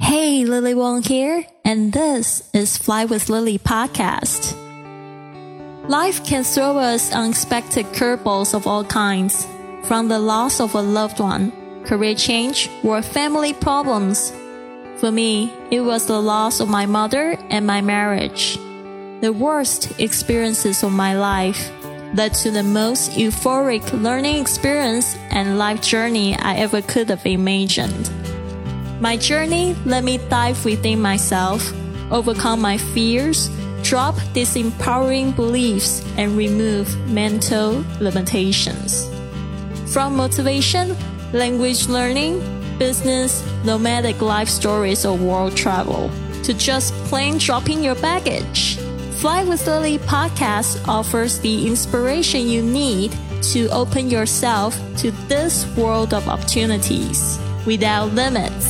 Hey, Lily Wong here, and this is Fly with Lily podcast. Life can throw us unexpected curveballs of all kinds, from the loss of a loved one, career change, or family problems. For me, it was the loss of my mother and my marriage. The worst experiences of my life led to the most euphoric learning experience and life journey I ever could have imagined. My journey let me dive within myself, overcome my fears, drop disempowering beliefs, and remove mental limitations. From motivation, language learning, business, nomadic life stories, or world travel, to just plain dropping your baggage, Fly with Lily podcast offers the inspiration you need to open yourself to this world of opportunities without limits.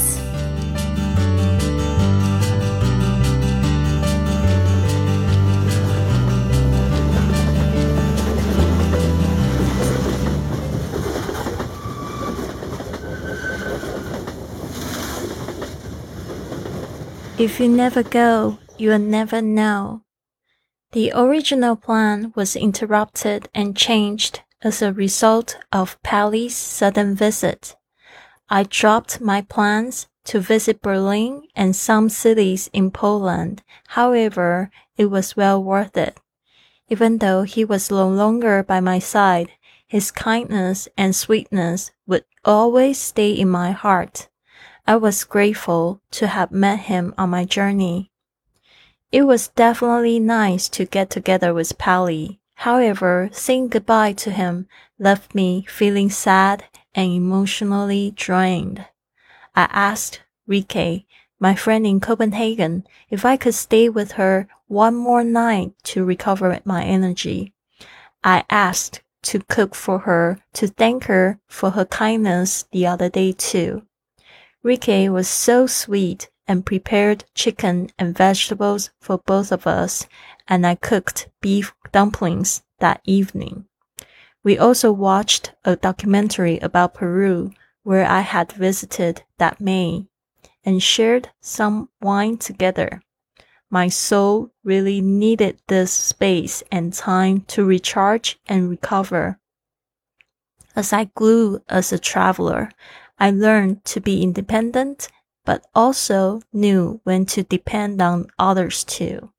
If you never go, you'll never know. The original plan was interrupted and changed as a result of Pally's sudden visit. I dropped my plans to visit Berlin and some cities in Poland. However, it was well worth it. Even though he was no longer by my side, his kindness and sweetness would always stay in my heart. I was grateful to have met him on my journey. It was definitely nice to get together with Pally. However, saying goodbye to him left me feeling sad and emotionally drained. I asked Rike, my friend in Copenhagen, if I could stay with her one more night to recover my energy. I asked to cook for her to thank her for her kindness the other day too. Rike was so sweet and prepared chicken and vegetables for both of us, and I cooked beef dumplings that evening. We also watched a documentary about Peru, where I had visited that May, and shared some wine together. My soul really needed this space and time to recharge and recover. As I grew as a traveler, I learned to be independent, but also knew when to depend on others too.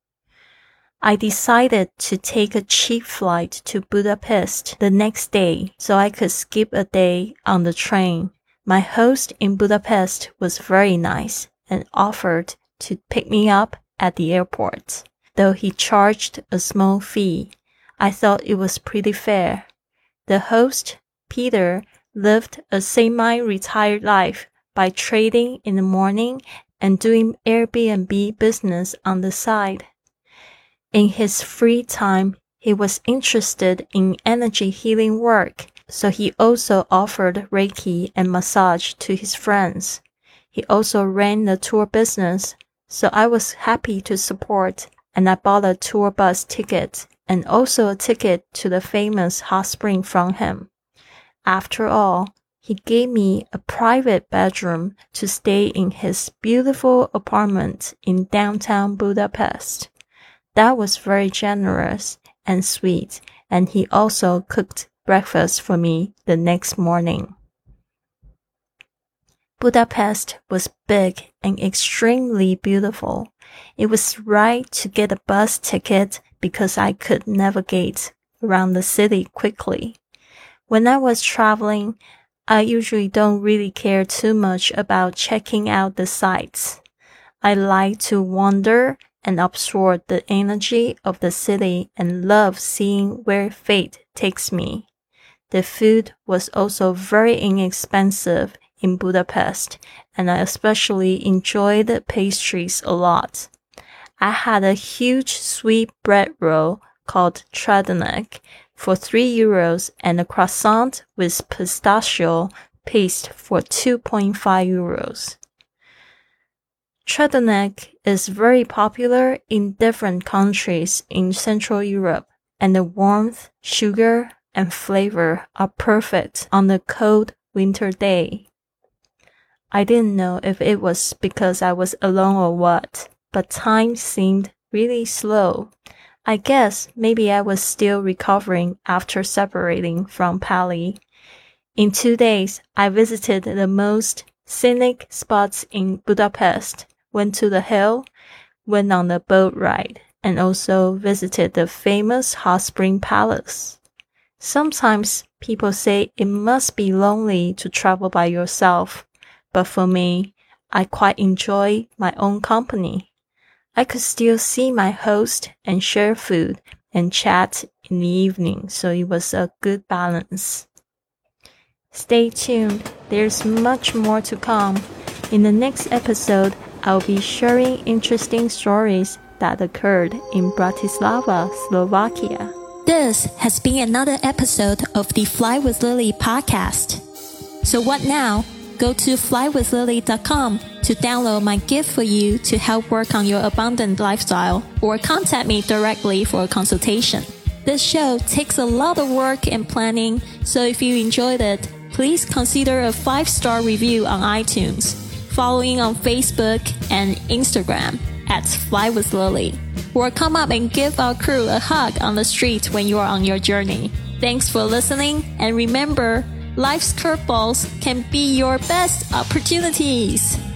I decided to take a cheap flight to Budapest the next day so I could skip a day on the train. My host in Budapest was very nice and offered to pick me up at the airport. Though he charged a small fee, I thought it was pretty fair. The host, Peter, lived a semi-retired life by trading in the morning and doing Airbnb business on the side. In his free time, he was interested in energy healing work, so he also offered Reiki and massage to his friends. He also ran the tour business, so I was happy to support, and I bought a tour bus ticket and also a ticket to the famous hot spring from him. After all, he gave me a private bedroom to stay in his beautiful apartment in downtown Budapest. That was very generous and sweet, and he also cooked breakfast for me the next morning. Budapest was big and extremely beautiful. It was right to get a bus ticket because I could navigate around the city quickly. When I was traveling, I usually don't really care too much about checking out the sights. I like to wander and absorb the energy of the city and love seeing where fate takes me. The food was also very inexpensive in Budapest, and I especially enjoyed the pastries a lot. I had a huge sweet bread roll called Tridonic for €3 and a croissant with pistachio paste for €2.5. Tridonic is very popular in different countries in Central Europe, and the warmth, sugar, and flavor are perfect on a cold winter day. I didn't know if it was because I was alone or what, but time seemed really slow. I guess maybe I was still recovering after separating from Pally. In 2 days, I visited the most scenic spots in Budapest, went to the hill, went on the boat ride, and also visited the famous hot spring palace. Sometimes people say it must be lonely to travel by yourself, but for me, I quite enjoy my own company. I could still see my host and share food and chat in the evening, so it was a good balance. Stay tuned, there's much more to come. In the next episode, I'll be sharing interesting stories that occurred in Bratislava, Slovakia. This has been another episode of the Fly with Lily podcast. So what now? Go to flywithlily.com to download my gift for you to help work on your abundant lifestyle, or contact me directly for a consultation. This show takes a lot of work and planning, so if you enjoyed it, please consider a 5-star review on iTunes, following on Facebook and Instagram at Fly with Lily, or come up and give our crew a hug on the street when you are on your journey. Thanks for listening, and remember, life's curveballs can be your best opportunities.